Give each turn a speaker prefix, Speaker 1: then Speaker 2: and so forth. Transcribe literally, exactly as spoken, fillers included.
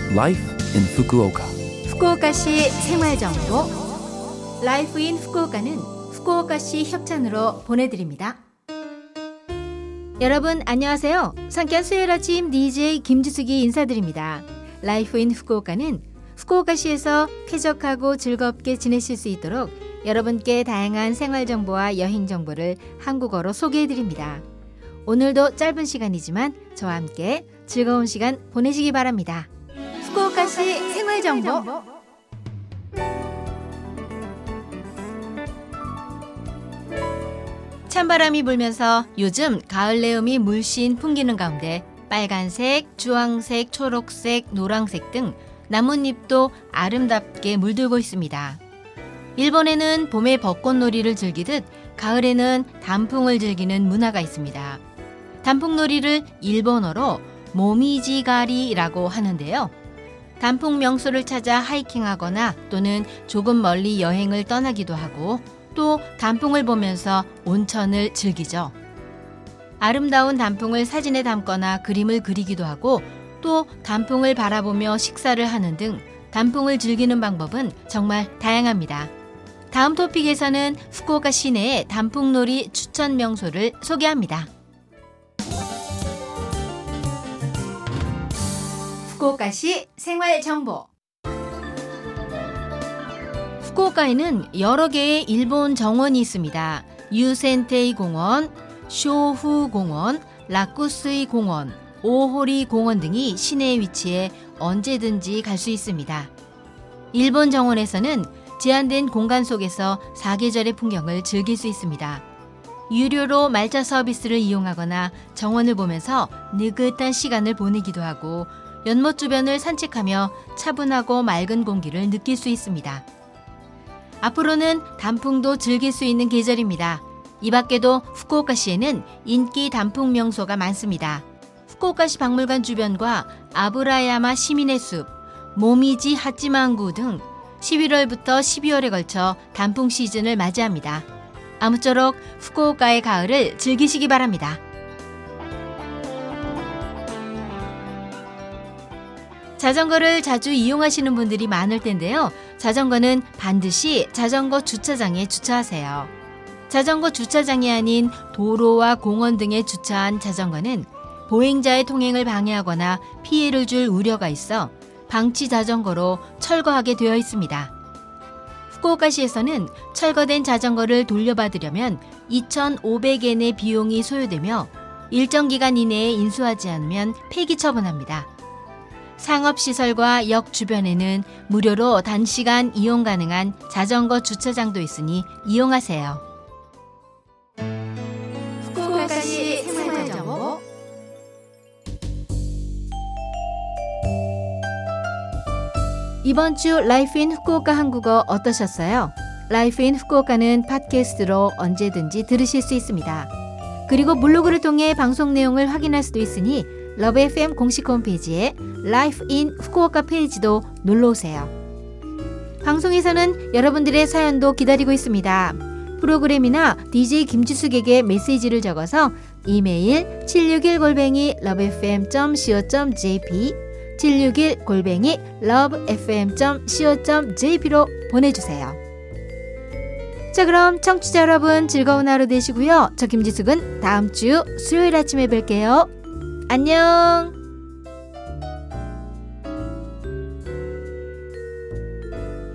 Speaker 1: Life in Fukuoka.
Speaker 2: 후쿠오카시 생활정보 라이프 인 후쿠오카는 후쿠오카시 협찬으로 보내드립니다. 여러분 안녕하세요. 상쾌한 수요일 아침 디제이 김지숙이 인사드립니다. 라이프 인 후쿠오카는 후쿠오카시에서 쾌적하고 즐겁게 지내실 수 있도록 여러분께 다양한 생활정보와 여행정보를 한국어로 소개해드립니다. 오늘도 짧은 시간이지만 저와 함께 즐거운 시간 보내시기 바랍니다. 후쿠오카시 생활정보. 찬바람이 불면서 요즘 가을 내음이 물씬 풍기는 가운데 빨간색, 주황색, 초록색, 노란색 등 나뭇잎도 아름답게 물들고 있습니다. 일본에는 봄에 벚꽃놀이를 즐기듯 가을에는 단풍을 즐기는 문화가 있습니다. 단풍놀이를 일본어로 모미지가리라고 하는데요. 단풍 명소를 찾아 하이킹하거나 또는 조금 멀리 여행을 떠나기도 하고 또 단풍을 보면서 온천을 즐기죠. 아름다운 단풍을 사진에 담거나 그림을 그리기도 하고 또 단풍을 바라보며 식사를 하는 등 단풍을 즐기는 방법은 정말 다양합니다. 다음 토픽에서는 후쿠오카 시내의 단풍놀이 추천 명소를 소개합니다. 후쿠오카시 생활정보. 후쿠오카에는 여러 개의 일본 정원이 있습니다. 유센테이 공원, 쇼후 공원, 라쿠스이 공원, 오호리 공원 등이 시내에 위치해 언제든지 갈 수 있습니다. 일본 정원에서는 제한된 공간 속에서 사계절의 풍경을 즐길 수 있습니다. 유료로 말차 서비스를 이용하거나 정원을 보면서 느긋한 시간을 보내기도 하고 연못 주변을 산책하며 차분하고 맑은 공기를 느낄 수 있습니다. 앞으로는 단풍도 즐길 수 있는 계절입니다. 이 밖에도 후쿠오카시에는 인기 단풍 명소가 많습니다. 후쿠오카시 박물관 주변과 아브라야마 시민의 숲, 모미지 하찌만구 등 십일월부터 십이월에 걸쳐 단풍 시즌을 맞이합니다. 아무쪼록 후쿠오카의 가을을 즐기시기 바랍니다. 자전거를 자주 이용하시는 분들이 많을 텐데요. 자전거는 반드시 자전거 주차장에 주차하세요. 자전거 주차장이 아닌 도로와 공원 등에 주차한 자전거는 보행자의 통행을 방해하거나 피해를 줄 우려가 있어 방치 자전거로 철거하게 되어 있습니다. 후쿠오카시에서는 철거된 자전거를 돌려받으려면 이천오백 엔의 비용이 소요되며 일정 기간 이내에 인수하지 않으면 폐기 처분합니다. 상업시설과 역 주변에는 무료로 단시간 이용 가능한 자전거 주차장도 있으니 이용하세요. 후쿠오카시 생활정보. 이번 주 라이프 인 후쿠오카 한국어 어떠셨어요? 라이프 인 후쿠오카는 팟캐스트로 언제든지 들으실 수 있습니다. 그리고 블로그를 통해 방송 내용을 확인할 수도 있으니 러브 에프엠 공식 홈페이지에 라이프 인 후쿠오카 페이지도 놀러오세요. 방송에서는 여러분들의 사연도 기다리고 있습니다. 프로그램이나 디제이 김지숙에게 메시지를 적어서 이메일 칠육일 골뱅이 러브에프엠 닷 씨오 닷 제이피 칠육일 골뱅이 러브에프엠 닷 씨오 닷 제이피로 보내주세요. 자, 그럼 청취자 여러분 즐거운 하루 되시고요. 저 김지숙은 다음 주 수요일 아침에 뵐게요. 안녕.